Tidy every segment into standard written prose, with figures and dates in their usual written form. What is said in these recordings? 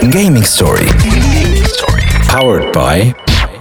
Gaming Story. Powered by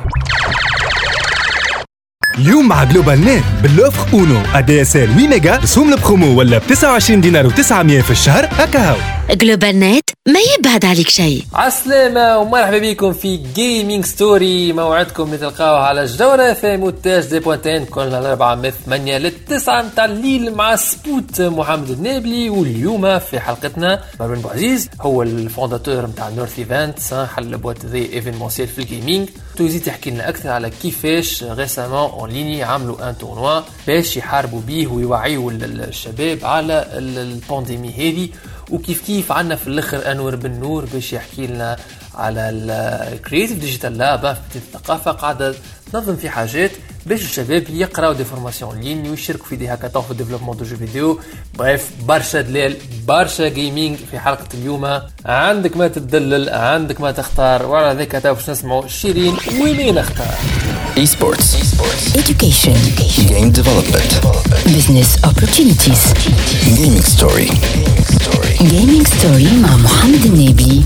اليوم مع جلوبال نت باللوفر اونو ادي اس ال 8 ميجا رسوم البرومو ولا ب 29 دينار و900 في الشهر هكا هاو. جلوبال نت ما يبعد عليك شيء. عالسلامة ومرحبا بكم في جيمنج ستوري، موعدكم نتلقاوه على جدورة في مونتاج دي بوانتين كلنا الأربعة من 8 ل9 متاع الليل مع سبوت محمد النابلي. واليوم في حلقتنا مروان بوعزيز هو الفونداتور متاع نورث ايفنتس، حل بوات ذي ايفينمونسيال في الجيمنج. توزي تحكي لنا أكثر على كيفاش ريسامون اون ليني عملوا ان تورنوا باش يحاربوا بيه ويوعيوا الشباب على البانديمي هذه، وكيف عنا في الاخر انور بن نور باش يحكي لنا على الكرياتيف ديجيتال لاب في الثقافه قاعده تنظم في حاجات باش الشباب يقراو دي فورماسيون لين ويشاركوا في دي هاكاطون في ديفلوبمون دو جو فيديو. بريف برشا دلال برشا جيمنج في حلقه اليوم. عندك ما تدلل، عندك ما تختار، وعلى ذاك تو باش نسمعوا شيرين ومين نختار. Esports, Education, Game Development, Business Opportunities. Gaming Story. Gaming Story مع محمد النابلي.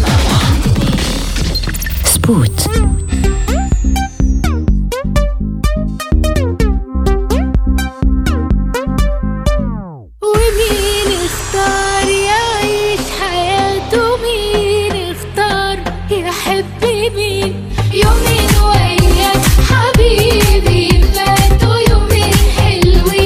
سبوت. ومين اختار يعيش حياته، مين اختار يحب مين، يومين وياك حبيبي فاتوا يومين حلوين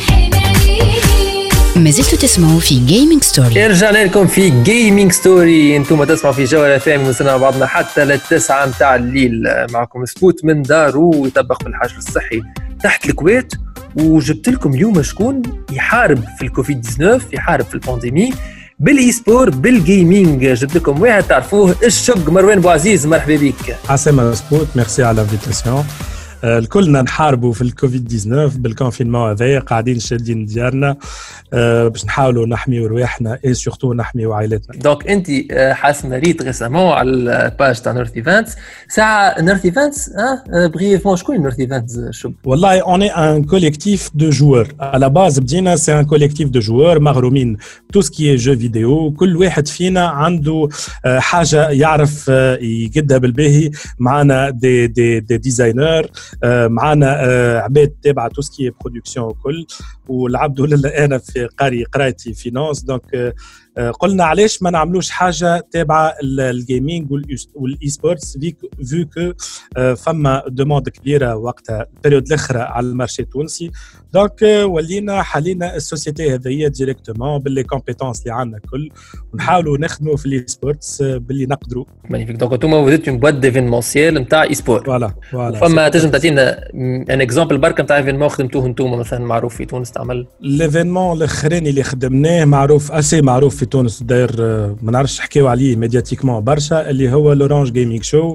حنانين. ما زلتوا تسمعوا في جيمنج ستوري. رجعنا لكم في جيمنج ستوري، انتم تسمعوا في جوله ثانيه وصلنا مع بعضنا حتى للتسعة متاع الليل. معكم سبوت من دارو يطبق في الحجر الصحي تحت الكويت، وجبت لكم اليوم شكون يحارب في الكوفيد 19، يحارب في البانديمي بالاي سبور بالجيمنج. جبت لكم واحد تعرفوه الشق مروان بوعزيز، مرحبا بك. عسلامة سبوت، ميرسي على الانفيتاسيون. الكلنا نحاربوا في الكوفيد 19 بالكونفينمون هذايا، قاعدين شادين ديارنا باش نحاولوا نحميوا رواحنا اي سورتو نحميوا عائلتنا. دونك انت حاسمه ريت ريسامون على الباج تاع نورث ايفنتس ساعه نورث ايفنتس بريفمون. شكون نورث ايفنتس شو؟ والله اون اي ان كوليكتيف دو جوور على باز. بدينا سي ان كوليكتيف دو جوور مغرومين تو سكي جو فيديو. كل واحد فينا عنده حاجه يعرف يقدها بالباهي. معنا دي ديزاينر، معنا عباد تابعه تو سكي برودكسيون وكل. والعبد لله انا في قرايتي فينانس، دونك قلنا علاش ما نعملوش حاجه تابعه الجيمنج والاي سبورتس فيو كو فما دوموند كبيره وقتها البريود الاخرى على المارشي التونسي. دونك ولينا حلينا السوسيتي هذه ديريكتومون باللي كومبيتونس اللي عندنا كل، ونحاولوا نخدموا في الاي سبورتس باللي نقدروا. مانيفيك. دونك انتم وليتوا بواد ديفينمونسيال نتاع اي سبور. فوالا فما تنجم تعطينا ان اكزامبل برك نتاع ايفينمون خدمتوه انتم مثلا معروف في تونس تعمل؟ ليفينمون الاخراني اللي خدمناه معروف اسي معروف في تونس، داير ما نعرفش نحكيو عليه ميدياتيكمون برشا، اللي هو لورانج جيمنج شو.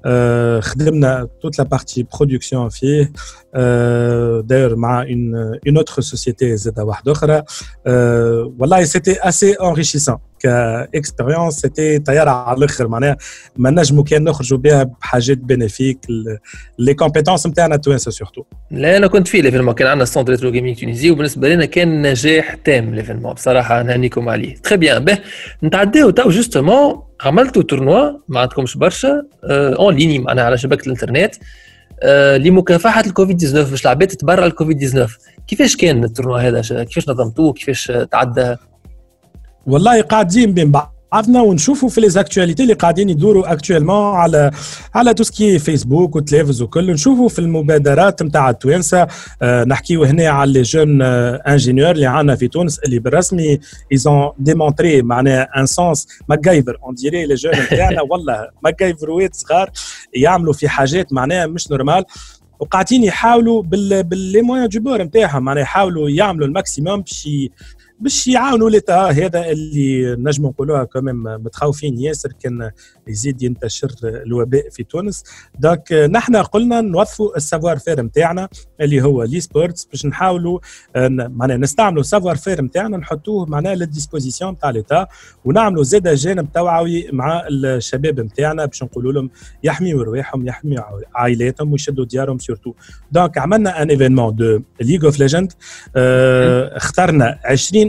خدمنا توت لا بارتي برودكسيون فيه، داير مع une autre société زادة واحدة أخرى. والله c'était assez enrichissant كإكسبيرينس، c'était طيارة على الآخر. معناها ما نجمو كان نخرجوا بها بحاجات بينيفيك لي كومبيتونس نتاعنا توانسة سورتو. لا أنا كنت في ليفينمون، كان عندنا ستاند ريترو جيمنج تونيزي، وبالنسبة لنا كان نجاح تام ليفينمون بصراحة، نهنيكم عليه. تري بيان. به نتعداو تو جوستومون عملتوا تورنوا ما عندكمش برشا اون ليني معناها على شبكة الانترنت لمكافحة الكوفيد 19 باش العباد تتبرع الكوفيد 19. كيفاش كان التورنوا هذا؟ كيفاش نظمتوه؟ كيفاش تعدى؟ والله قاعدين بين بعضنا ونشوفوا في ليزاكتواليتي اللي قاعدين يدوروا اكtuellement على توسكي فيسبوك وتلفز وكل. نشوفوا في المبادرات نتاع التوانسه، نحكيو هنا على لي جون انجينيور اللي عندنا في تونس اللي بالرسمي ايزون ديمونطري معناها ان سونس ماكايفر اون ديري لي جون نتاعنا والله ماكايفروات صغار يعملوا في حاجات معناها مش نورمال، وقاعدين يحاولوا باللي موان دو بور نتاعهم معناها يحاولوا يعملوا الماكسيموم باش يعاونوا لتا هذا اللي نجم نقولوها كمان متخوفين ياسر كان يزيد ينتشر الوباء في تونس. دونك نحن قلنا نوظفوا السافوار فير نتاعنا اللي هو لي سبورتس باش نحاولوا معناها نستعملوا السافوار فير نتاعنا نحطوه معناها للديسبوزيسيون تاع لتا، ونعملوا زاد جانب توعوي مع الشباب نتاعنا باش نقولوا لهم يحميوا رواحهم يحميوا عائلاتهم ويشدوا ديارهم سورتو. دونك عملنا ان ايفينمون دو ليغ اوف ليجند، اخترنا 20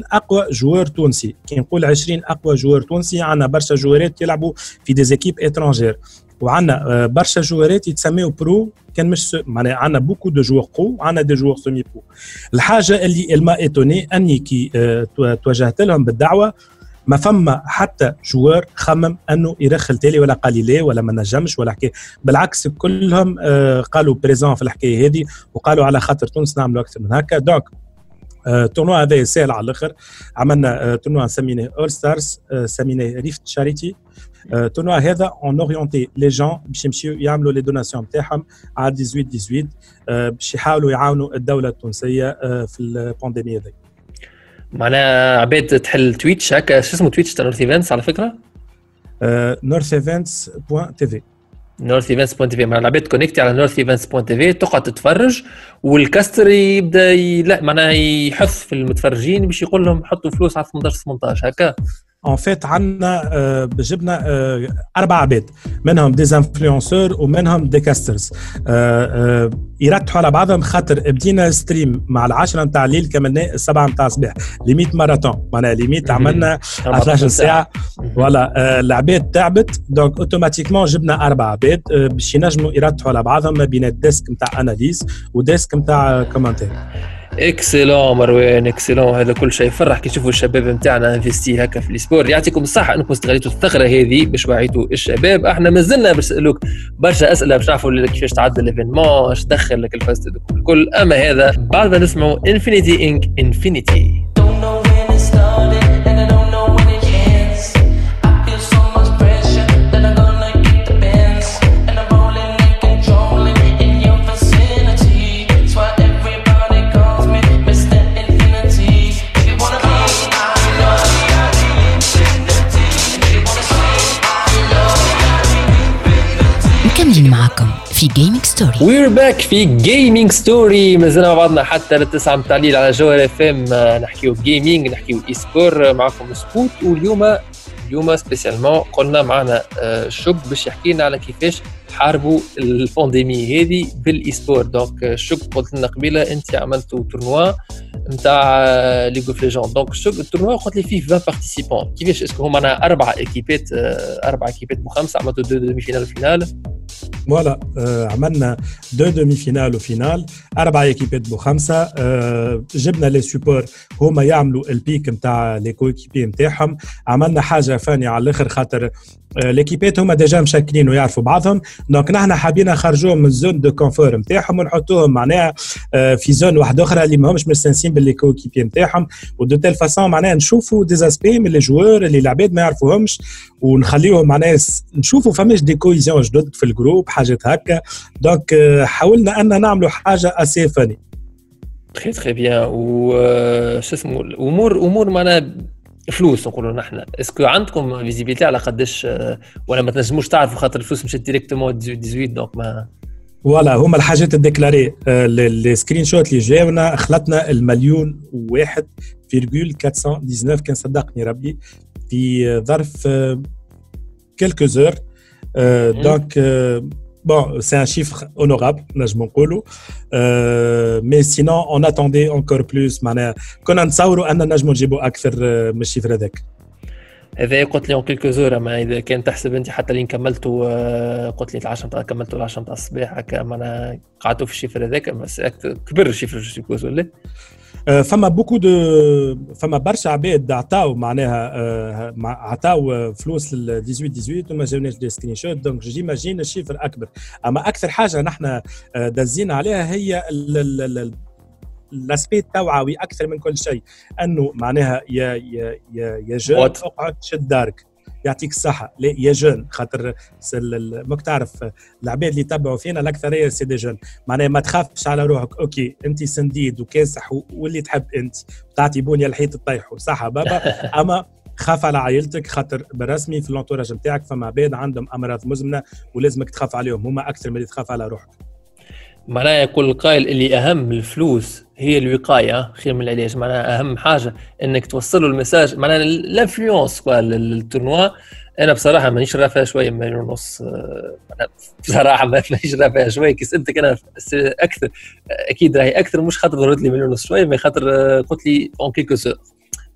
20 اقوى جوار تونسي. كي نقول 20 اقوى جوار تونسي عندنا برشا جوارات يلعبوا في دي زيكيب اترانجير، وعندنا برشا جوارات يتسميوا برو كان مش معناها عندنا بوكو دو جوار برو وعندنا دي جوار سيمي برو. الحاجه اللي الما ايتوني اني كي توجهت لهم بالدعوه ما فما حتى جوار خمم انه يرخل تالي ولا قال لي لا ولا ما نجمش ولا حكايه، بالعكس كلهم قالوا بريزون في الحكايه هذه وقالوا على خاطر تونس نعملوا اكثر من هكا. دونك تورنوا هذا سهل على الاخر. عملنا تورنوا سميناه اول ستارز، سميناه ريفت شاريتي. تورنوا هذا اون اورينتي لي جون باش يمشيو يعملوا لي دوناسيون نتاعهم على 18 باش يحاولوا يعاونوا الدوله التونسيه في البانديمي هذه. معناها عباد تحل تويتش هكا، شو اسمه تويتش تاع نورث ايفنتس على فكره؟ northevents.tv. northevents.tv معناها العباد كونيكتي على northevents.tv تقعد تتفرج، والكاستر يبدا معناها يحث في المتفرجين باش يقول لهم حطوا فلوس على 18 هكا. ان فيت عندنا جبنا 4 عباد، منهم دي انفلونسور ومنهم دي كاسترز يرتحوا على بعضهم، خاطر بدينا ستريم مع 10 نتاع الليل كملنا 7 نتاع الصباح، ليميت ماراثون معناها ليميت عملنا 12 ساعه ولا العباد تعبت. دونك اوتوماتيكمون جبنا 4 عباد باش ينجموا يرتحوا على بعضهم ما بين الديسك نتاع اناليز وديسك نتاع كومنتير. اكسلون مروان اكسلون، هذا كل شيء يفرح كي تشوفوا الشباب نتاعنا انفستي هكا في السبور. يعطيكم الصحه انكم استغليتوا الثغره هذه باش وعيتوا الشباب. احنا مازلنا باش نسالوك برشا اسئله باش نعرفوا كيفاش تعدى الايفينمون، ايش دخل لك الفاست الكل، اما هذا بعد ما نسمعوا انفينيتي انك انفينيتي. معكم في جيمنج ستوري. وير باك في جيمنج ستوري، مازلنا مع بعضنا حتى للتسعة متاع الليل على جوهر اف ام. نحكيو جيمنج نحكيو اي سبور، معكم سبوت. واليوم سبيسيالمون قلنا معنا شوب باش يحكي لنا على كيفاش حاربوا البانديمي هذه بالاي سبور. دونك شوب قلت لنا قبيله انت عملتوا تورنوا نتاع ليغ اوف ليجند، دونك شوب التورنوا قلت لي فيه 20 بارتيسيبون. كيفاش اسكو هما معنا 4 ايكيبات ب5 عملتوا 2 دومي فينال وفينال؟ فوالا عملنا 2 دومي فينال وفينال، 4 ايكيبات ب5. جبنا لي سوبور هما يعملوا البيك نتاع لي كويكيبي نتاعهم. عملنا حاجه فانيه على الاخر خاطر ليكيبات هما ديجا مشكلين ويعرفوا بعضهم، دونك نحن حابين نخرجوهم من الزون دو كونفور نتاعهم ونحطوهم معناها في زون واحده اخرى اللي ماهمش مستانسين باللي كويكيبي نتاعهم، ودو تيل فاسون معناها نشوفوا دي اسبي من لي جوار اللي العباد ما يعرفوهمش ونخليهم معناها نشوفوا فماش دي كويزيون جدد في الجروب حاجات هكا. دونك حاولنا ان نعملوا حاجه اسي فاني. تري بيان. و شو اسمه امور معناها فلوس نقولوا نحن، اسكو عندكم فيزيبيليتي على قداش ولا ما تنجموش تعرفوا خاطر الفلوس مشات ديريكتومون 18 دونك ما ولا هما الحاجات الديكلاري السكرين شوت اللي جاونا خلطنا 1,000,000.419 كان صدقني ربي في ظرف quelques heures. Donc bon, c'est un chiffre honorable, نجم نقولوا. Mais sinon on attendait encore plus. معناها كنا نتصوروا أن نجم نجيبوا أكثر من الشيفر هذاك. هذا قلت لي كلكو زور، اما اذا كان تحسب انت حتى اللي كملتوا قلت لي 10 نتاع كملتوا 10 نتاع الصباح هكا معنا قعدتوا في الشيفر هذاك، بس كبر الشيفر جوز ولا فما بوكو فما برشا عباد عطاو معناها عطاو فلوس لل 18 وما جاوناش دي سكرين شوت. دونك جيماجين الشيفر اكبر. اما اكثر حاجه نحن دازين عليها هي الاسبيت التوعوي اكثر من كل شيء، انه معناها يا جون اقعد شد دارك يعطيك الصحه. لا يا جون، خاطر ماك تعرف العباد اللي يتبعوا فينا الاكثريه سي دي جون، معناها ما تخافش على روحك. اوكي انت سنديد وكاسح واللي تحب انت تعطي بونيه الحيط تطيحوا صح بابا، اما خاف على عائلتك خاطر بالرسمي في الانتوراج نتاعك فما عباد عندهم امراض مزمنه ولازمك تخاف عليهم هما اكثر من اللي تخاف على روحك. معناها يقول القائل اللي أهم الفلوس هي الوقاية خير من العلاج. معناها أهم حاجة إنك توصلوا المساج. معناها الانفلونس التورنوا أنا بصراحة مانيش رافع شوية 1.5 مليون. بصراحة مانيش رافع شوية. كي سألتك أنا أكثر أكيد راهي أكثر، مش خاطر ضرورت لي 1.5 مليون شوية، ما خاطر قلت لي أون كيلكو سور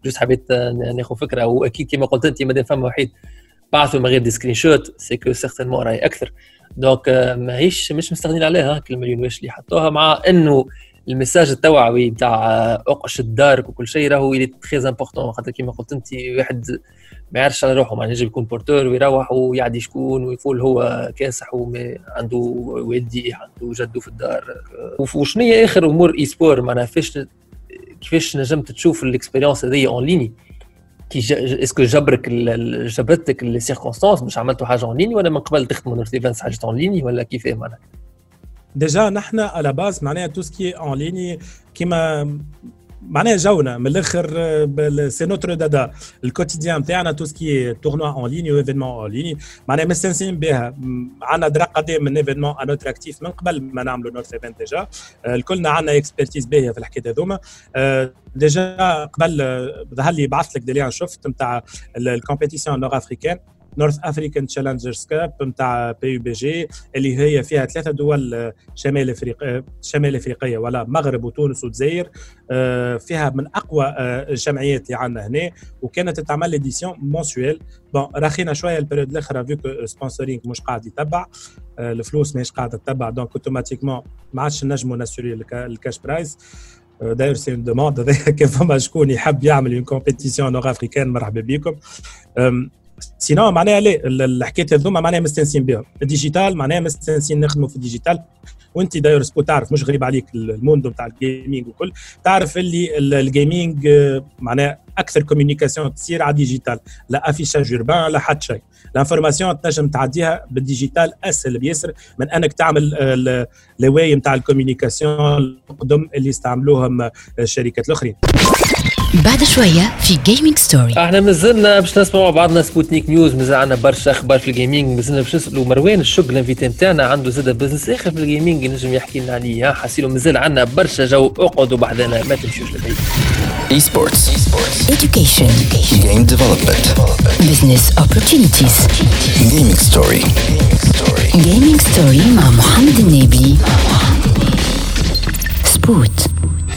جست حبيت ناخذ فكره. واكيد كما قلت انت مادام فما وحيد بعثوا من غير دي سكرين شوت سيكو سيغتينمون راهي اكثر. دونك ماهيش مش مستغنين عليها كل مليون واش اللي حطوها، مع انه المساج التوعوي نتاع اقش دارك وكل شيء راهو يلي تري امبورطون. خاطر كيما قلت انت واحد ما يعرفش على روحه، معناها يجي يكون بورتور ويروح ويعدي شكون ويقول هو كاسح وعنده والدي عنده جدو في الدار. وشنو هي اخر امور اي سبور معناها كيفاش نجمت تشوف الاكسبيريونس هذه اون ليني؟ كي اسكو جبرتك لي سيركونستانس باش عملتوا حاجه اون ليني، ولا من قبل تخدموا نورت ايفنتس حاجه اون ليني، ولا كيف معناها؟ ديجا نحن على باز معناها تو سكي اون ليني كيما معناها جونا من الاخر سي نوتر دادا الكوتيديان تاعنا تو سكي تورنوا اون ليني و ايفينمون اون ليني معناها مستانسين بها. عندنا درا قديم من ايفينمون ان اوتر اكتيف من قبل ما نعملوا نورث ايفنت. ديجا الكلنا عندنا اكسبرتيز باهيه في الحكايه هذوما. ديجا قبل ظهر لي بعثت لك ديليان شفت نتاع الكومبيتيسيون نور افريكان نورث افريكان تشالنجرز كاب نتاع PUBG اللي هي فيها 3 دول شمال افريقيه ولا مغرب وتونس والجزائر. فيها من اقوى الجمعيات اللي عندنا هنا، وكانت تعمل اديسيون مونسويل. بون راخينا شويه البريود الاخر فيو سبونسورينغ مش قاعد يتبع الفلوس، ماهيش قاعده تتبع، دونك اوتوماتيكمون ما عادش نجموا ناسوري الكاش برايز. داير سي اون دوموند كان فما شكون يحب يعمل اون كومبيتيسيون نور افريكان مرحبا بكم. سينو معناها ليه الحكايه هذوما معناها مستانسين بهم. الديجيتال معناها مستانسين نخدموا في الديجيتال. وانت داير سبو تعرف مش غريب عليك الموندو نتاع الجيمنج وكل، تعرف اللي الجيمنج معناها اكثر كوميونيكاسيون تصير على الديجيتال، لا افيشاج اوربان لا حتى شيء. الانفورماسيون تنجم تعديها بالديجيتال اسهل بيسر من انك تعمل الواي نتاع الكوميونيكاسيون القدم اللي يستعملوهم الشركات الاخرين. بعد شوية في جيمنج ستوري احنا مازلنا باش نسمعوا بعضنا سبوتنيك نيوز، مازال عندنا برشا اخبار في الجيمنج. مازلنا باش نسالوا مروان الشق الانفيتي نتاعنا عنده زاد بزنس اخر في الجيمنج ينجم يحكي لنا عليه. حاسيلو مازال عندنا برشا جو، اقعدوا بحذنا ما تمشيوش لبعيد. Esports. Education Game development. Business opportunities Gaming story. Gaming story مع محمد النبي. سبوت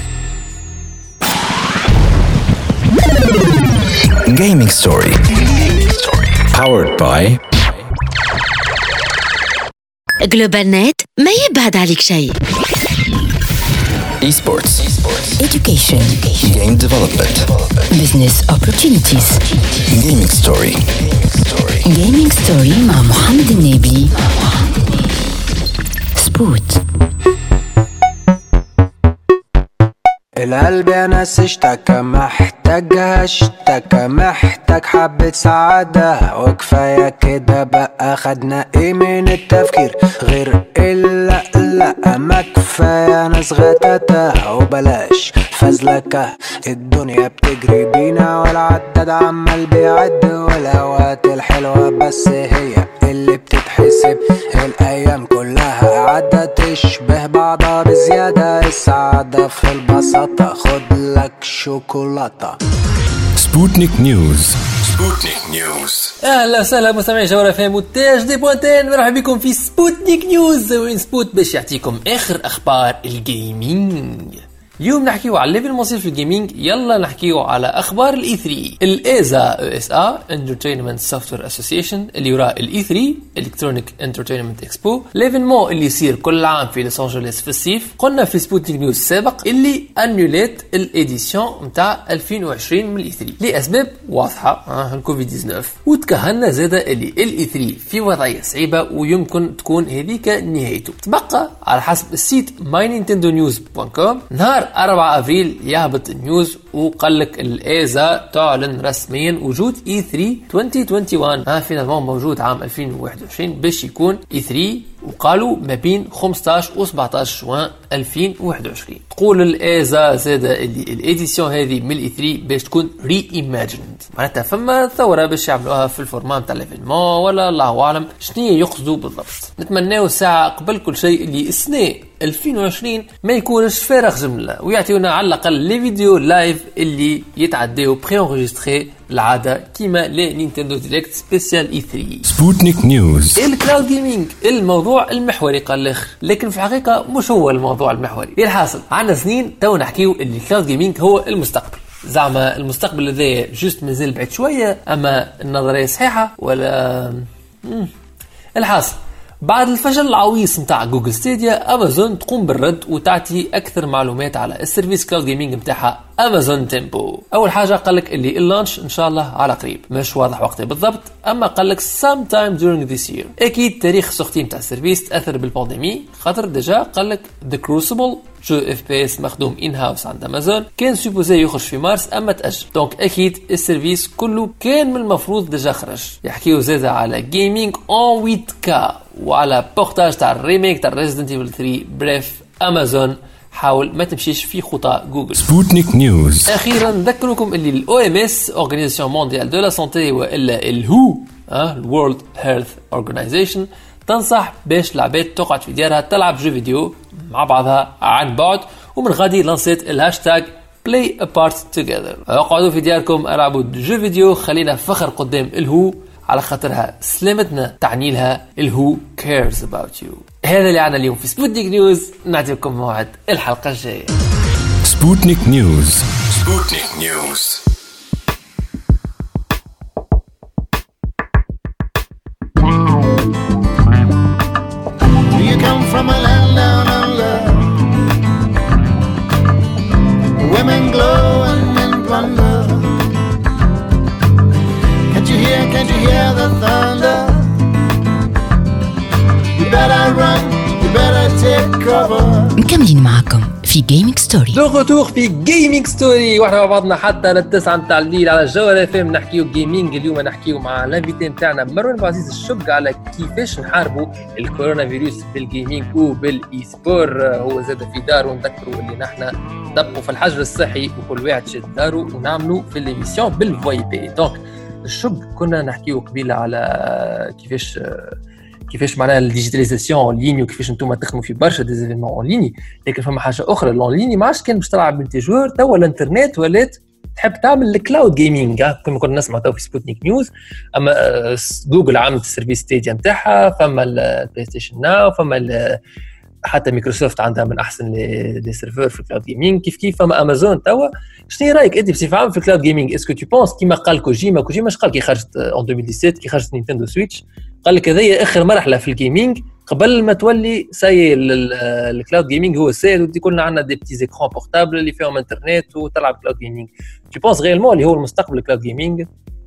Gaming story. Powered by جلوبال نت ما يبعد عليك شيء. Esports. Education Game development. Business opportunities Gaming story. Gaming story مع محمد النبي. سبوت القلب يا ناس اشتكى محتاج حبة سعادة، وكفاية كده بقى خدنا ايه من التفكير غير إلا لا ما كفاية ناس غتاتة وبلاش فزلكة. الدنيا بتجري بينا والعداد عمال بيعد، والأوقات الحلوة بس هي اللي بتتحسب. الأيام كلها عدت تشبه بعضها بزيادة، السعادة في البساطة خد لك شوكولاتة. Sputnik News. اهلا وسهلا مستمعي جوهرة فهم وتاج دي بوانتين، مرحبا بكم في سبوتنيك نيوز، وين سبوت باش يعطيكم اخر اخبار الجيمنج. اليوم نحكيو على الليفل المصير في الجيمنج. يلا نحكيو على اخبار الاي 3. الايزا ESA Entertainment Software Association اللي وراء الاي 3 Electronic Entertainment Expo، ليفينمون اللي يصير كل عام في لوس انجلوس في الصيف. قلنا في سبوتنيك نيوز السابق اللي انوليت الاديسيون نتاع 2020 من الاي 3 لاسباب واضحه، الكوفيد 19، وتكهلنا زاده اللي الاي 3 في وضعيه صعيبه ويمكن تكون هذيك نهايته. تبقى على حسب السيت mynintendo.news.com نهار 4 أبريل يهبط النيوز وقال لك الإيزا تعلن رسميا وجود E3 2021 فينالمون موجود عام 2021 باش يكون E3، وقالوا ما بين 15 و 17 جوان 2021. تقول الإيزا زادة اللي الإديسيون هذه من E3 باش تكون ري-ايماجيند، معناتها فما ثورة باش يعملوها في الفورمان تاع الإيفينمون ولا الله أعلم شنو يقصدوا بالضبط. نتمناو ساعة قبل كل شيء اللي السنة 2020 ما يكونش فارغ جملة، ويعطيونا على الأقل لي فيديو لايف اللي يتعداو بري انغيستري العادة كيما لي نينتندو ديريكت سبيسيال اي 3. سبوتنيك نيوز. الكلاود جيمنج الموضوع المحوري قال الاخر، لكن في الحقيقة مش هو الموضوع المحوري. الحاصل عنا سنين تو نحكيو اللي الكلاود جيمنج هو المستقبل. زعما المستقبل هذا جوست مازال بعيد شويه، اما النظريه صحيحه ولا الحاصل بعد الفشل العويص متاع جوجل ستيديا، امازون تقوم بالرد وتعطي اكثر معلومات على السيرفيس كلاود جيمنج متاعها امازون تيمبو. اول حاجه قال لك اللي اللانش ان شاء الله على قريب، مش واضح وقته بالضبط، اما قال لك sometime during this year. اكيد تاريخ سختي متاع السيرفيس تاثر بالبانديمي، خاطر ديجا قال لك The Crucible جو اف بي اس مخدوم ان هاوس عند امازون كان سوبوزي يخرج في مارس اما تاجل، دونك اكيد السيرفيس كله كان من المفروض ديجا خرج. يحكيو زاده على جيمنج اون 8K وعلى بورتاج تاع الريميك تاع ريزيدنت ايفل 3. بريف امازون حاول ما تمشيش في خطى جوجل. سبوتنيك نيوز. اخيرا نذكركم اللي الاو ام اس اورغانيزاسيون مونديال دو لا سانتي والا الهو الورلد هيلث اورغانيزيشن تنصح باش العباد تقعد في ديارها تلعب جو فيديو مع بعضها عن بعد، ومن غادي لانسيت الهاشتاج play apart together. اقعدوا في دياركم العبوا جو فيديو، خلينا فخر قدام الهو على خاطرها سلامتنا تعني لها الهو cares about you. هذا اللي عنا اليوم في سبوتنيك نيوز، نعطيكم موعد الحلقة الجاية. سبوتنيك نيوز. سبوتنيك نيوز. Do you come from a land down under? Women glow and men plunder. Can't you hear the thunder? You better run, you better take cover. مكملين معكم في جيمنج ستوري. دو غوتور في جيمنج ستوري، واحنا مع بعضنا حتى للتسعة متاع الليل على الجوهرة FM نحكيو جيمنج. اليوم نحكيو مع الانفيتي متاعنا مروان بوعزيز الشق على كيفاش نحاربوا الكورونا فيروس بالجيمنج وبالاي سبور. هو زاد في دار ونذكروا اللي نحن نطبقوا في الحجر الصحي وكل واحد شد دارو ونعملوا في الاميسيون بالفوي بي. دونك الشق كنا نحكيو قبيله على كيفاش معناها الديجيتاليزاسيون اون ليني وكيفاش انتم تخدموا في برشا ديزيفينمون اون ليني، لكن فما حاجه اخرى الاون ليني ما عادش كان باش تلعب بالتجوار، توا الانترنت ولات تحب تعمل الكلاود جيمنج. كما كنا نسمع تو في سبوتنيك نيوز، اما جوجل عملت السيرفيس ستيديا نتاعها، فما البلاي ستيشن ناو، فما حتى مايكروسوفت عندها من احسن لي سيرفر في الكلاود جيمنج، كيف فما امازون توا. شنو رايك انت بصفه عامه في الكلاود جيمنج؟ اسكو تو بونس كيما قال كوجيما اش قال كي خرجت اون 2017 كي خرجت نينتندو سويتش، قال لك هذه اخر مرحله في الجيمنج قبل ما تولي ساي الكلاود جيمنج هو السائد ودي كلنا عندنا دي بتي زيكرون بورتابل اللي فيهم انترنت وتلعب كلاود جيمنج. تو بونس غيرمون اللي هو المستقبل الكلاود جيمنج؟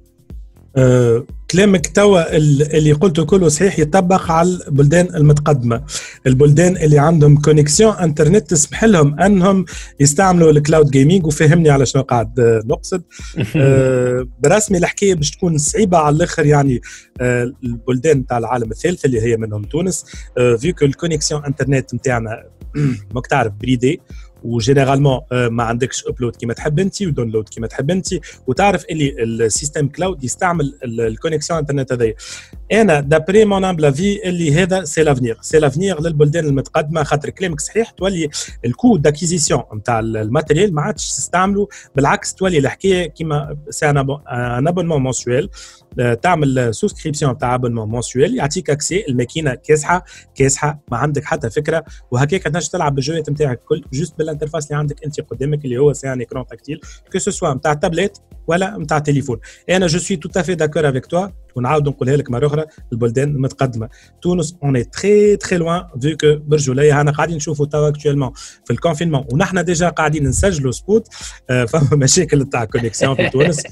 كلامك توا اللي قلته كله صحيح، يطبق على البلدان المتقدمه، البلدان اللي عندهم كونيكسيون انترنت تسمح لهم انهم يستعملوا الكلاود جيمنج. وفهمني على شنو قاعد نقصد. برسمي الحكايه باش تكون صعيبه على الاخر، يعني البلدان تاع العالم الثالث اللي هي منهم تونس، فيكو الكونيكسيون انترنت نتاعنا ماك تعرف بريدي، وجينيرالمون ما عندكش ابلود كيما تحب انت وداونلود كيما تحب انت، وتعرف اللي السيستم كلاود يستعمل الكونيكسيون انترنت هذيا. انا دابري مون امبل في اللي هذا سي لافنير، سي لافنير للبلدان المتقدمه، خاطر كلامك صحيح، تولي الكو داكيزيسيون نتاع الماتيريال ما عادش تستعملوا، بالعكس تولي الحكايه كيما سي ان ابونمون مونسويل، تعمل سوسكريبسيون تاع ابونمون مونسويل يعطيك اكسي الماكينه كاسحه ما عندك حتى فكره، وهكاك تنجم تلعب بالجوات نتاعك الكل جوست بالانترفاس اللي عندك انت قدامك اللي هو سي ان ايكران تاكتيل كو سو سوا نتاع تابلت ولا نتاع تليفون. انا جو سوي تو افي داكور افيك توا، ونعاود نقولها لك مره اخرى، البلدان المتقدمه تونس اون اي تري تري لوان فيو كو برجوليه. انا قاعدين نشوفوا توا اكطوالمون في الكونفينمون ونحن ديجا قاعدين نسجلوا سبوت، فما مشاكل تاع كونيكسيون في تونس.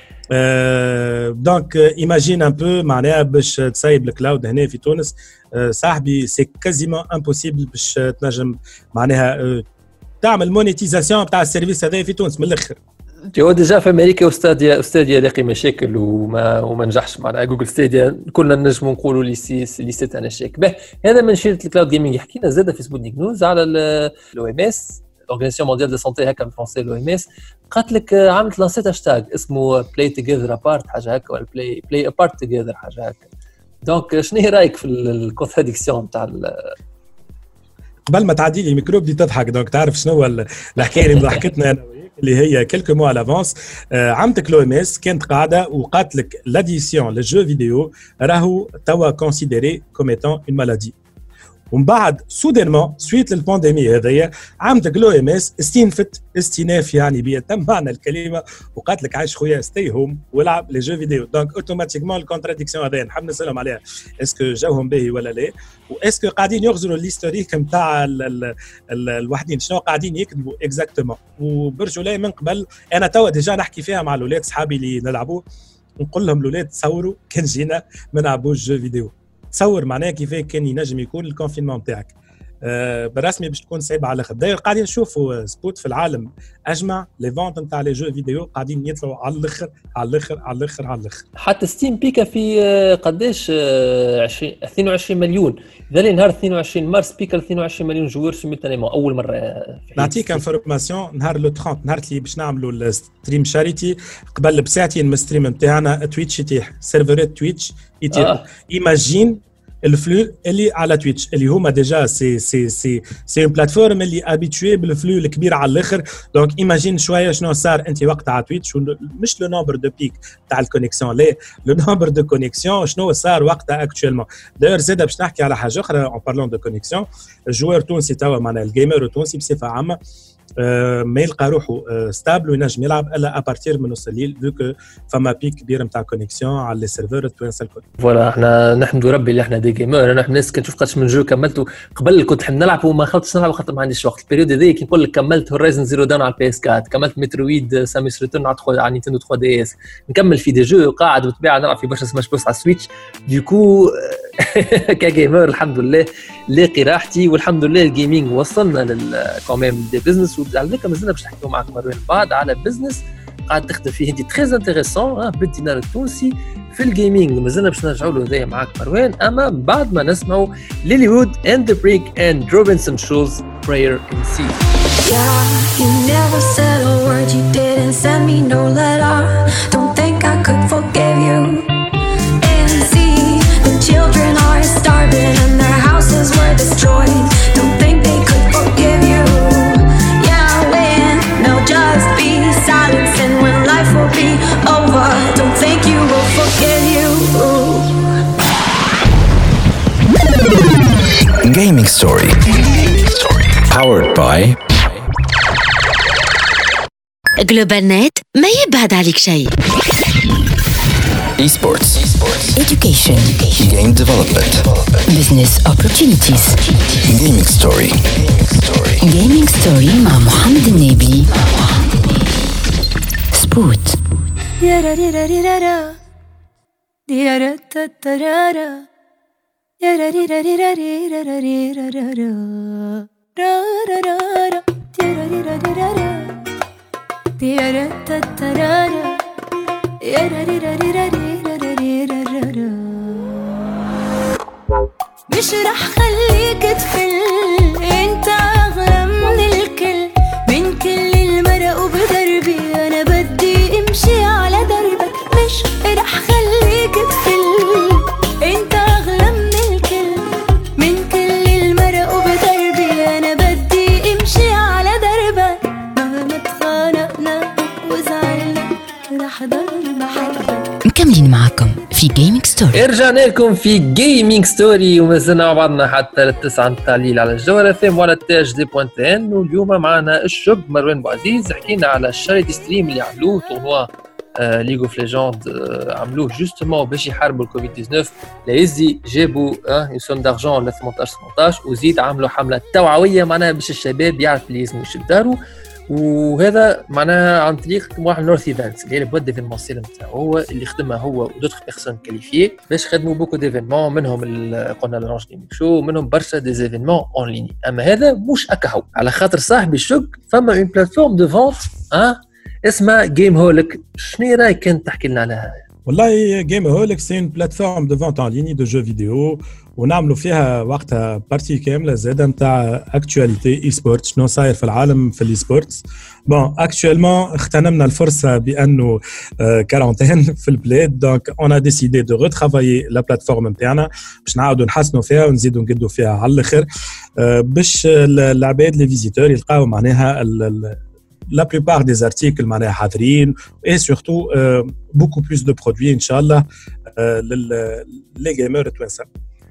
دونك ايماجين ان بو معناها باش تصايب الكلاود هنا في تونس صاحبي سي كازيمون امبوسيبل باش تنجم معناها تعمل مونيتيزاسيون تاع السيرفيس هذا في تونس من الاخر. هو ديجا في امريكا استاديا لاقي مشاكل وما نجحش مع جوجل ستاديا، كنا نجموا نقولوا لي سيت انا شاك به. هذا من شيره الكلاود جيمنج. حكينا زاده في سبوتنيك نيوز على الاو ام اس الاورغانيزاسيون مونديال دو سانتي، هكا بالفرنسي الاو ام اس، قالت لك عملت لانسيت هاشتاج اسمه بلاي توجذر ابارت حاجه هكا، ولا بلاي ابارت توجذر حاجه هكا. دونك شنو هي رايك في الكونتراديكسيون تاع قبل ما تعدي لي الميكرو بدي تضحك؟ دونك تعرف شنو هو الحكايه اللي ضحكتنا انا اللي هي كلكو موا لافونس. عملتك لو ام اس كانت قاعده وقالت لك لاديسيون للجو فيديو راهو توا كونسيديري كوم ايتون اون مالادي، ومن بعد سودينمون سويت للبانديمي هذيا عملت لو ام اس استئناف يعني بيتم معنى الكلمه وقالت لك عايش خويا ستي هوم والعب لي جو فيديو. دونك اوتوماتيكمون الكونتراديكسيون هذيا نحب نسالهم عليها اسكو جاوهم باهي ولا لا، واسكو قاعدين يغزروا الهيستوريك نتاع الوحدين شنو قاعدين يكتبوا اكزاكتومون. وبرجولي من قبل انا توا ديجا نحكي فيها مع الاولاد صحابي اللي نلعبوا، نقول لهم الاولاد تصوروا كان جينا ما نلعبوش جو فيديو، تصور معناها كيف كان ينجم يكون الكونفينمون نتاعك بالرسمي باش تكون صعيبه على الاخر. داير قاعدين نشوفوا سبوت في العالم اجمع لي فونت نتاع لي جو فيديو قاعدين يطلعوا على الاخر على الاخر على الاخر على الاخر. حتى ستيم بيكا في قداش 22 مليون ذا نهار 22 مارس بيكا 22 مليون جوار سيمultanément اول مره. نعطيك انفورماسيون نهار لو 30 نهار اللي باش نعملوا الستريم شاريتي قبل بساعتين من الستريم نتاعنا تويتش يتيح سيرفرات تويتش يتيح ايماجين الفلو اللي على تويتش اللي هما ديجا سي اون بلاتفورم اللي ابيتوي بالفلو الكبير على الاخر. دونك ايماجين شويه شنو صار انت وقت على تويتش، مش لو نومبر دو بيك تاع الكونيكسيون لا لو نومبر دو كونيكسيون شنو صار وقتها اكطوالمون. داير زاد باش نحكي على حاجه اخرى اون بارلون دو كونيكسيون. الجوار التونسي توا معناها الجيمر التونسي بصفه عامه ما يلقى روحه ستابل وينجم يلعب الا ابارتير من نص الليل فيكو فما بيك كبير نتاع كونيكسيون على لي سيرفر التوانسه الكل. فوالا احنا نحمدوا ربي اللي احنا دي جيمر. انا ناس كنشوف قداش من جو كملته قبل كنت نحب نلعب وما خلطتش نلعب خاطر ما عنديش وقت. البيريود هذيك نقول لك كملت هورايزن زيرو داون على البي اس 4، كملت مترويد ساميس ريتيرن على نينتندو 3 دي اس، نكمل في دي جو قاعد وتباع نلعب في برشا سماش بوس على السويتش. ديكو كجيمر الحمد لله لاقي راحتي والحمد لله الجيمنج وصلنا للكوميم دي بزنس. وعلى ذلك مازلنا باش نحكيو معك مروان بعد على بزنس قاعد تخدم فيه انت تري انتريسون بالدينار التونسي في الجيمنج. مازلنا باش نرجعوا له هذايا معك مروان، اما بعد ما نسمعوا ليلي وود اند ذا بريك اند روبنسون شولز براير ان سي. Yeah, you never said a word, you didn't send me no letter. Don't think I could forgive you. And see, the children are starving and their houses were destroyed. Don't think they could forgive you. Yeah, when they'll just be silence and when life will be over. Don't think you will forgive you. Gaming Story. Powered by جلوبال نت ما يبعد عليك شيء. Esports. Education. Game development. Business opportunities. Gaming Story. Gaming Story مع محمد النبي. سبوت. مش رح خليك تفل، انت اغلى من الكل، من كل المرق وبدربي انا بدي امشي على دربك. مش رح خليك تفل، انت اغلى من الكل، من كل المرق وبدربي انا بدي امشي على دربك. مهما تخانقنا وزعلنا رح ضل بحبك. مكملين معكم في جيمنج ستوري. رجعنا لكم في جيمنج ستوري ومازلنا مع بعضنا حتى للتسعة متاع الليل على الجوهرة FM وعلى التاج دي بوانتين. واليوم معنا الشب مروان بوعزيز، حكينا على الشاريتي ستريم اللي عملوه تورنوا ليج اوف ليجند، عملوه جوستومون باش يحاربوا الكوفيد 19. ليزي جابوا سوم دارجون ل 18 وزيد عملوا حملة توعوية معناها باش الشباب يعرف اللي لازم يشد دارو. وهذا معناها عن طريق واحد نورث ايفنتس اللي هي البواد ديفينمونسيال نتاعو هو اللي خدمها هو ودوتر بيرسون كاليفيي باش خدموا بوكو ديفينمون، منهم قلنا لورانج جيمنج شو، منهم برشا دي زيفينمون اون ليني. اما هذا مش اكاهو على خاطر صاحبي الشق فما اون بلاتفورم دو فونت اسمها جيم هوليك. شنو رايك كنت تحكي لنا عليها؟ والله جيم هوليك سي اون بلاتفورم دو فونت اون ليني دو جو فيديو، ونعملوا فيها وقتها بارتي كامله زاده نتاع اكtualité اي سبورت، شنو صاير في العالم في الاي سبورتس. بون اكtuellement اغتنمنا الفرصه بانه كارونتين في البلاد، دونك اون ا ديسيدي دو ريترافايي لا بلاتفورم نتاعنا باش نعاودوا نحسنوا فيها ونزيدوا نقدوا فيها على الاخر باش العباد لي فيزيتور يلقاو معناها la plupart des articles معناها حاضرين et surtout beaucoup plus de produits ان شاء الله للجيمر توانسه.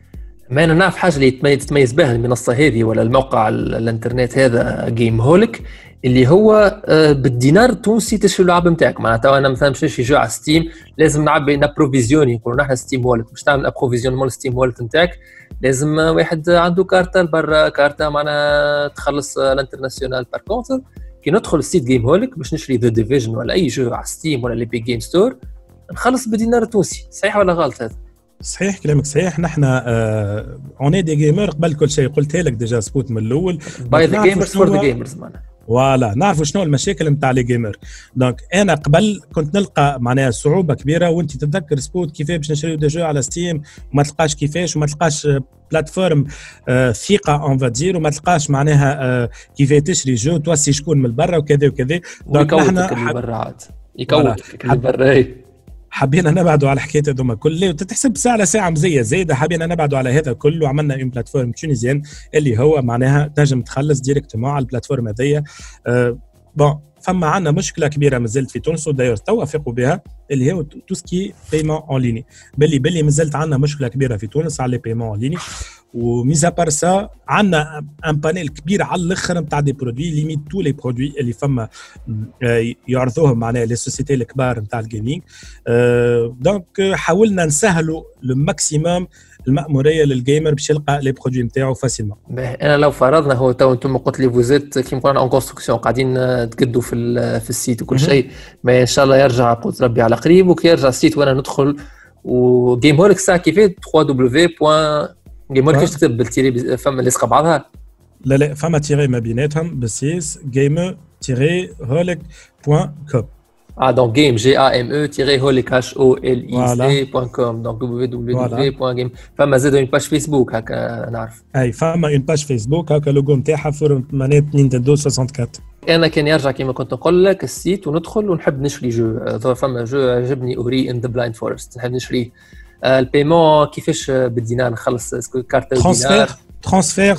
ما أنا نعرف حاجة اللي تتميز بها المنصة هذه ولا الموقع الانترنت هذا جيم هوليك، اللي هو بالدينار التونسي تشري اللعبة نتاعك. معناتها أنا مثلا باش نشري جو على ستيم لازم نعبي نابروفيزيوني، نقولوا نحن ستيم وولت باش تعمل ابروفيزيونمون ستيم وولت نتاعك لازم واحد عنده كارتة لبرا، كارتة معناها تخلص الانترناسيونال. بار كونتر كي ندخل السيت جيم هوليك باش نشري ذا ديفيجن ولا أي جو على ستيم ولا ليبي جيم ستور نخلص بالدينار التونسي. صحيح ولا غلط هذا؟ صحيح كلامك صحيح. نحن اوني دي جيمر قبل كل شيء قلتها لك ديجا سبوت من الاول، باي ذا جيمرز فور ذا جيمرز معناها. فوالا نعرفوا شنو المشاكل نتاع لي جيمر. دونك انا قبل كنت نلقى معناها صعوبه كبيره، وانت تتذكر سبوت كيفاش باش نشريو دي جو على ستيم وما تلقاش كيفاش، وما تلقاش بلاتفورم ثقه اون فادير، وما تلقاش معناها كيفاش تشري جو توسي شكون من برا وكذا وكذا. دونك نحن يكوتك اللي برا حبينا نبعدوا على الحكايه هذوما كله، وتتحسب ساعه لساعه مزيه زايده. حبينا نبعدوا على هذا كله، وعملنا اون بلاتفورم تونيزيان اللي هو معناها تنجم تخلص ديريكتومون على البلاتفورم هذيا. بون فما عندنا مشكله كبيره مازالت في تونس، وداير توافقوا بها، اللي هو تو سكي بايمون اون ليني. باللي مازالت عندنا مشكله كبيره في تونس على لي بايمون اون ليني. وميزا بار سا عندنا ان بانيل كبير على الاخر نتاع دي برودوي، ليميت تو لي برودوي اللي فما يعرضوهم معناها لي سوسيتي الكبار نتاع الجيمنج. دونك حاولنا نسهلوا لو ماكسيموم المأمورية للجيمر باش يلقى لي برودوي نتاعو فاسيلمون. انا لو فرضنا هو تو انتم قلت لي فوزيت كيما قلنا اون كونستركسيون قاعدين تقدوا في السيت وكل شيء، ما ان شاء الله يرجع قوت ربي على قريب وكي يرجع السيت وانا ندخل وجيم هوليك ساعه كيفاش www.gameholik كيفاش تكتب بالتيري فما لصقه بعضها؟ لا فما تيري ما بيناتهم بالسيس gamer-holic.com. donc game game-holic.com donc www.game. فما زاد une page Facebook هكا نعرف. اي فما une page Facebook هكا لوجو نتاعها فورم مانيت نينتندو 64. انا كان يرجع كيما كنت نقول لك السيت وندخل ونحب نشري جو، فما جو عجبني اوري ان ذا بلايند فورست نحب نشري. البايمون كيفاش بالدينار نخلص كارت دينار transfert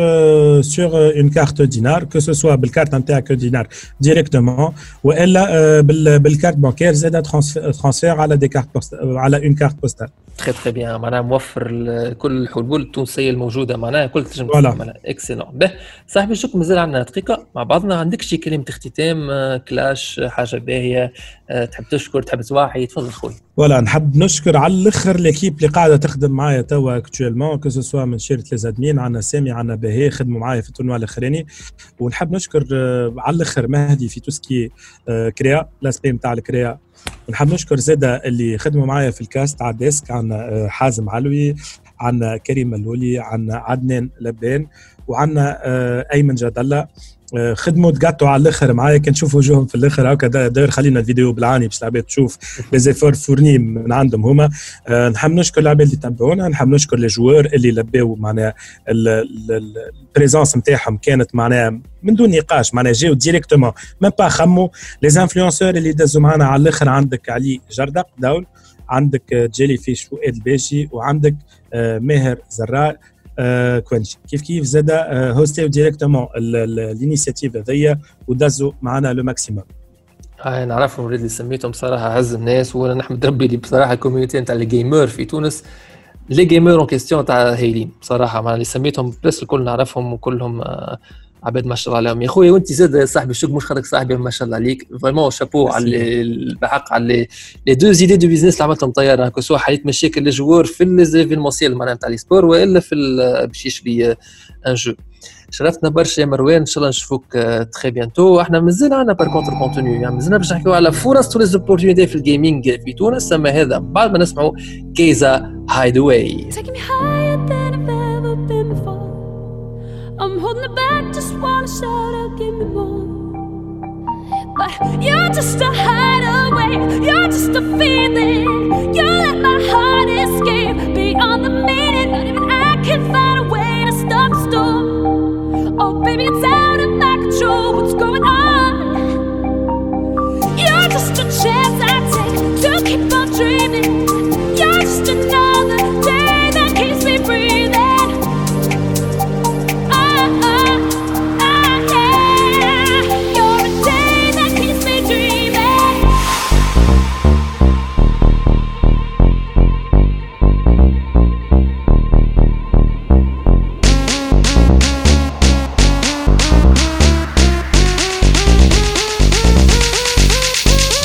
sur une carte dinar, que ce soit بالكارت نتاعك دينار ديريكتومون والا بالكارت بانكير زاد transfert على دي كارت على une carte postale. très bien معناها موفر كل الحلول التونسيه الموجوده معناها كل تنجم تعملها. اكسلون. به صاحبي الشكر مازال عندنا دقيقه مع بعضنا، عندك شي كلمه اختتام كلاش حاجه باهيه تحب تشكر تحب تواحي؟ تفضل خويا. ولا نحب نشكر على الاخر ليكيب اللي قاعده تخدم معايا توا اكطوالمون كو سو سوا من شركه ليزادمين، عندنا سامي عندنا باهي خدموا معايا في التورنوا الاخراني، ونحب نشكر على الاخر مهدي في توسكي كريا لاسبي نتاع الكريا، ونحب نشكر زاده اللي خدموا معايا في الكاست على الديسك، عندنا حازم علوي، عندنا كريم ملولي، عندنا عدنان لبان، وعندنا ايمن جاد الله خدموا تقطعوا على الاخر معايا. كان نشوفوا وجوههم في الاخر هكا داير خلينا الفيديو بالعاني باش العباد تشوف لي زيفور فورني من عندهم هما. نحب نشكر العباد اللي تابعونا، نحب نشكر لي جوار اللي لباو معناها البريزونس نتاعهم كانت معناها من دون نقاش، معناها جاو ديريكتومون ميم با خموا. لي انفلونسور اللي دازوا معنا على الاخر عندك علي جردق داول، عندك جيلي فيش فؤاد الباشي، وعندك ماهر زراء كوينش كيف زادا هوستيو ديريكتومون الانيشيتيف هذيا ودازوا معنا لو ماكسيموم. نعرفهم الولاد اللي سميتهم بصراحه عز الناس، وانا نحمد ربي اللي بصراحه الكوميونيتي نتاع الجيمر في تونس لي جيمر اون كيستيون تاع هايلين بصراحه، مع اللي سميتهم بس الكل نعرفهم وكلهم عباد ما شاء الله عليهم. يا خويا وانت زاد صاحبي الشغل مش خليك صاحبي ما شاء الله عليك فريمون شابو على الحق على لي دو زيدي دو بيزنس اللي عملتهم طياره كو سوا حليت مشاكل الجوار في ليزيفينمونسيال معناها تاع لي سبور والا في باش يشري ان جو. شرفتنا برشا يا مروان، ان شاء الله نشوفوك تري بيانتو. احنا مازال عندنا بار كونتر كونتوني، يعني مازلنا باش نحكيو على فرص ولي زوبورتونيتي في الجيمنج في تونس، اما هذا بعد ما نسمعوا كيزا هايدواي. I'm holding it back, just wanna shout out, give me more. But you're just a hideaway, you're just a feeling. You let my heart escape beyond the meaning. Not even I can find a way to stop the storm. Oh baby, it's out of my control, what's going on? You're just a chance I take to keep on dreaming. You're just another day that keeps me breathing.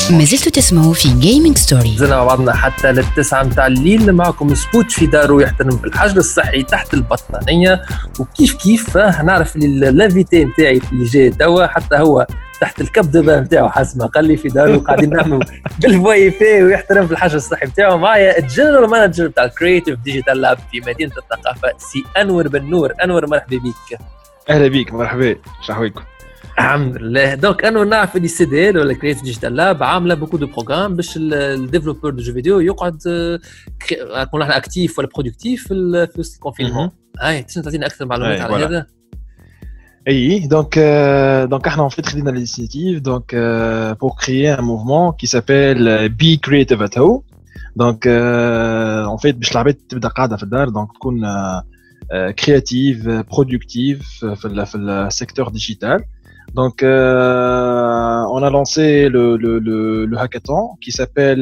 ما زلتوا تسمعوا في جيمنج ستوري. زلنا مع بعضنا حتى للتسعة متاع الليل. معكم سبوت في دارو يحترم في الحجر الصحي تحت البطانية. وكيف كيف نعرف اللافيتي متاعي اللي جاي توا حتى هو تحت الكبد متاعه حسب ما قال لي في دارو قاعدين نعملوا بالواي فاي ويحترم في الحجر الصحي متاعه. معايا الجنرال مانجر بتاع الكرياتيف ديجيتال لاب في مدينة الثقافة سي أنور بن نور. أنور مرحبا بك. اهلا بيك مرحبا شحويكم. الحمد لله. دونك انا نعرف اللي سي دي ال ولا كرياتيف ديجيتال لاب عامله بوكو دو بروغرام باش الديفلوبور دو جو فيديو يقعد نكون احنا اكتيف ولا برودكتيف في الكونفينمون. هاي تنجم تعطينا اكثر معلومات على هذا؟ اي دونك احنا en fait خدينا l'initiative donc pour créer un mouvement qui s'appelle Be Creative at Home. donc en fait باش العباد تبدا قاعده في الدار donc تكون créative productive في السيكتور ديجيتال. Donc, on a lancé le hackathon qui s'appelle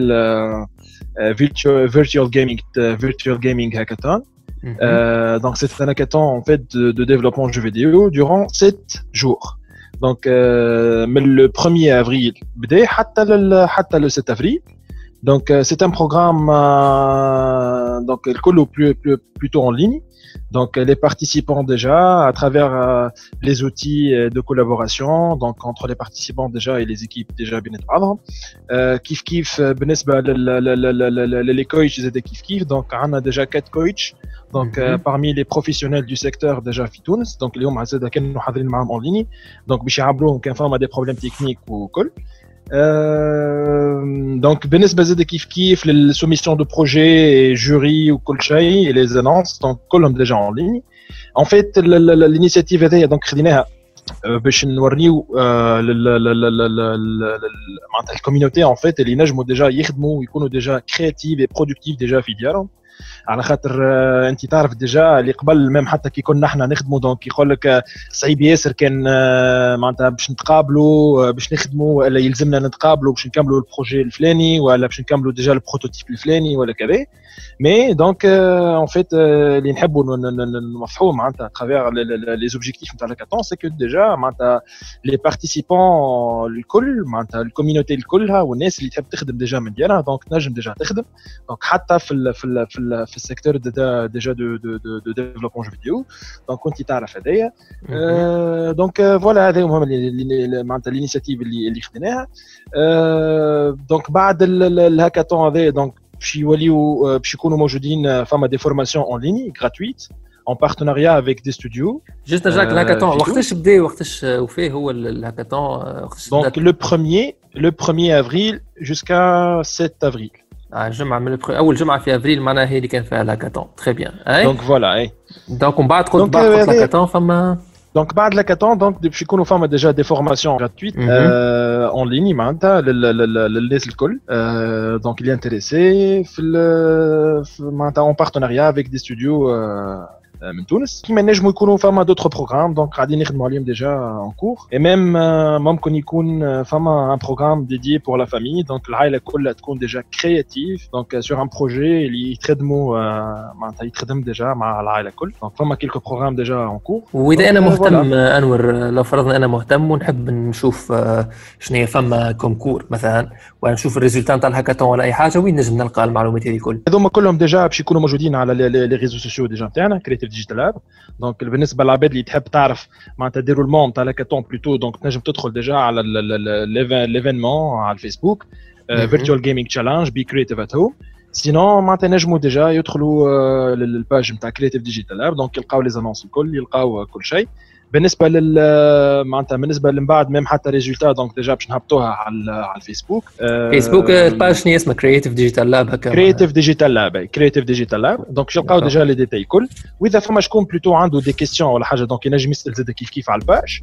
Virtual Gaming Hackathon. Donc, c'est un hackathon en fait de développement de jeux vidéo durant 7 jours. Donc, le 1er avril, حتى le 7 avril. Donc, c'est un programme donc plutôt en ligne. Donc les participants déjà à travers les outils de collaboration donc entre les participants déjà et les équipes déjà bien بعضهم كيف بالنسبة les coachs زاد كيف donc on a déjà 4 coachs donc parmi les professionnels du secteur déjà في تونس donc اليوم عزاد كانوا حاضرين معهم en ligne donc باش يعبروهم كان فما des problèmes techniques وكل. Donc بالنسبة زاد كيف للسوميسيون دو بروجي جوري وكل شيء et les annonces donc كلهم déjà en ligne. En fait l'initiative هذه donc خديناها باش نوريو معناتها الكوميونيتي en fait اللي ينجموا déjà يخدموا ويكونوا déjà créatifs et productifs déjà في ديارهم. على خاطر انت تعرف ديجا اللي قبل ميم حتى كي كنا احنا نخدموا دونك يقول لك صعيب ياسر كان معناتها باش نتقابلوا باش نخدموا ولا يلزمنا نتقابلوا باش نكملوا البروجي الفلاني ولا باش نكملوا ديجا البروتوتيب الفلاني ولا كذا. مي دونك ان فيت اللي نحبوا نوضحوا معناتها ترافير لي زوبجيكتيف نتاع الهاكاثون سي كو ديجا معناتها لي بارتيسيبون الكل معناتها الكوميونيتي الكلها والناس اللي تحب تخدم ديجا من ديالها دونك تنجم ديجا تخدم دونك حتى في السيكتور ديجا دو ديفلوبمون جو فيديو دونك كنت تعرف هذايا. دونك فوالا هذا هما معناتها الانيشيتيف اللي خديناها. دونك بعد الهاكاثون هذا دونك باش يوليو باش يكونوا موجودين فما دي فورماسيون اون ليني غراتويت en partenariat avec des studios. Juste نرجعك الهاكاثون وقتاش بدا وقتاش وفيه هو الهاكاثون وقتاش donc le 1er avril jusqu'à 7 avril. الجمعة من أول جمعة في أفريل معناها هي اللي كان فيها الهاكاثون. تري بيان. دونك فوالا اي. دونك من بعد قلت بعد الهاكاثون فما دونك بعد الهاكاثون دونك باش يكونوا فما ديجا دي فورماسيون غراتويت اون ليني معناتها للناس الكل دونك اللي انتريسي في معناتها اون بارتناريا افيك دي ستوديو من تونس كيما نجموا يكونوا فما دوطخ بروغرام دونك قاعدين نخدموا عليهم ديجا اون كور اي ميم ممكن يكون فما ان بروغرام ديدي بور لا فامي دونك العائله كلها تكون ديجا كرياتيف دونك سور ان بروجي اللي يتخدموا معناتها يتخدم ديجا مع العائله الكل دونك فما كيلكو بروغرام ديجا اون كور. واذا انا مهتم انور لو فرضنا انا مهتم ونحب نشوف شنو هي فما كونكور مثلا ونشوف الريزولتا نتاع الهاكاثون ولا اي حاجه وين نجم نلقى المعلومات هذه الكل؟ هذوما كلهم ديجا باش يكونوا موجودين على لي ريزو سوسيو ديجا نتاعنا كرياتيف ديجيتال لاب. دونك بالنسبه للعباد اللي تحب تعرف معناتها ديرولمون تاع الهاكاثون بلوتو دونك تنجم تدخل ديجا على ليفينمون على الفيسبوك فيرتوال جيمنج تشالنج بي كرياتيف ات هوم. سينون معناتها نجموا ديجا يدخلوا للباج نتاع كرياتيف ديجيتال لاب دونك يلقاو لي زانونس الكل يلقاو كل شيء. بالنسبه معناتها بالنسبه من بعد ميم حتى ريزولتا دونك ديجا باش نهبطوها على الفيسبوك. فيسبوك الباج شنو اسمها كرياتيف ديجيتال لاب هكا كرياتيف ديجيتال لاب دونك يلقاو ديجا لي ديتاي الكل. واذا فما شكون بلوتو عنده دي كيستيون ولا حاجه دونك ينجم يسال زاد كيف على الباج.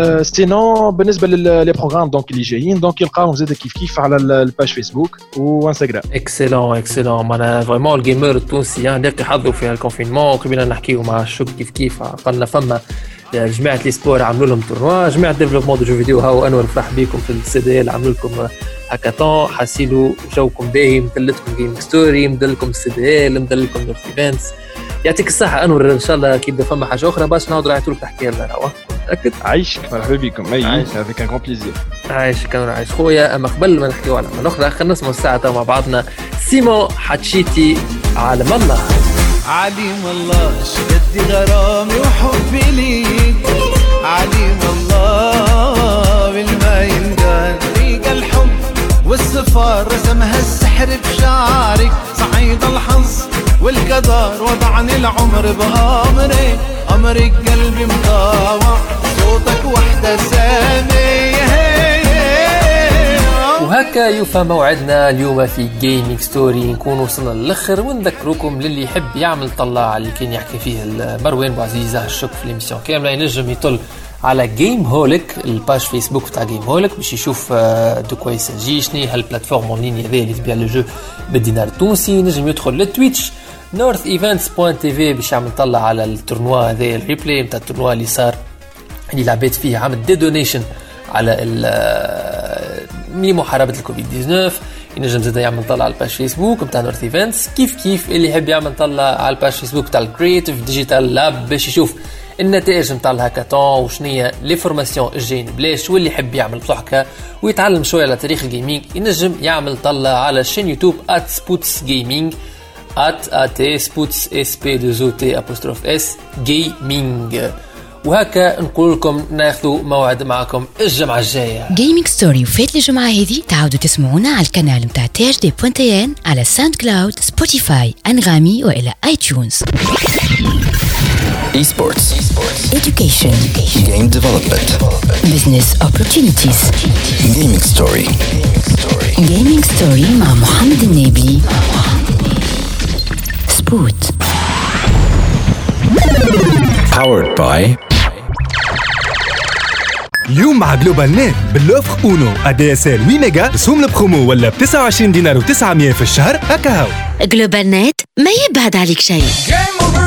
سينون بالنسبه لي بروغرام دونك اللي جايين دونك يلقاوهم زاد كيف على الباج فيسبوك وانستغرام. اكسلون معناها فريمون الجيمر التونسي لاقي حظه في الكونفينمون قبلنا نحكيو مع الشوك كيف قلنا فما جماعه لي سبور عملوا لهم تورنوا جماعه ديفلوبمون دو جو فيديو هاو انور فرح بيكم في السي دي ال عملوا لكم هاكاثون حاسيلوا جوكم باهي مدلتكم جيمنج ستوري مدلكم السي دي ال مدلكم الايفنتس. يعطيك الصحه انور ان شاء الله كي يبدا فما حاجه اخرى باش نعاود رايتو لك تحكي لنا. أكد عايشك مرحبا بكم. اي افيك ان كون بليزير. عايشك انا عايش خويا. اما قبل ما نحكيو على من اخرى خلينا نسمعوا الساعه مع بعضنا سيمو حتشيتي عالم الله. عليم الله شدي غرامي وحبي ليك، عليم الله بالما ينقال ريق الحب والسفار رسمها السحر بشعرك، صعيد الحظ والقدر وضعني العمر بأمرك، أمرك قلبي مطاوع صوتك وحدة سامي. وهكا يوفى موعدنا اليوم في جيمنج ستوري. نكون وصلنا للآخر ونذكركم للي يحب يعمل طلع اللي كان يحكي فيه مروان بوعزيزة الشك في الاميسيون كاملة ينجم يطل على جيم هوليك الباج فيسبوك تاع جيم هوليك باش يشوف دو كوا يساجي شنو هالبلاتفورم اون لين هذا اللي تبيع لو جو بالدينار التونسي. ينجم يدخل للتويتش northevents.tv باش يعمل طلع على التورنوا هذا الريبلاي نتاع التورنوا اللي صار اللي لعبت فيه عمل دي دونيشن على محاربة الكوفيد 19. ينجم زاد يعمل طلع على الباج فيسبوك نتاع نورث ايفنتس كيف اللي يحب يعمل طلع على الباج فيسبوك تاع الكرييتيف ديجيتال لاب باش يشوف النتائج نتاع الهاكاثون وشنية لي فورماسيون الجايين بلاش. واللي يحب يعمل بصحكه ويتعلم شويه على تاريخ الجيمنج ينجم يعمل طلع على شين يوتيوب @sputsgaming @sputs_gaming. وهكا نقول لكم ناخذوا موعد معكم الجمعة الجاية. جيمنج ستوري وفات الجمعة هذه تعودوا تسمعونا على القناة متاع THD.1 على ساوند كلاود سبوتيفاي أنغامي وإلى iTunes. Esports. Education. Game development. Business opportunities. Gaming story. Gaming story مع محمد النبي. سبوت. Powered by اليوم مع جلوبال نت باللوفر اونو ADSL 8 ميجا رسوم البرومو ولا ب 29 دينار و900 في الشهر هكا هاو. جلوبال نت ما يبعد عليك شيء.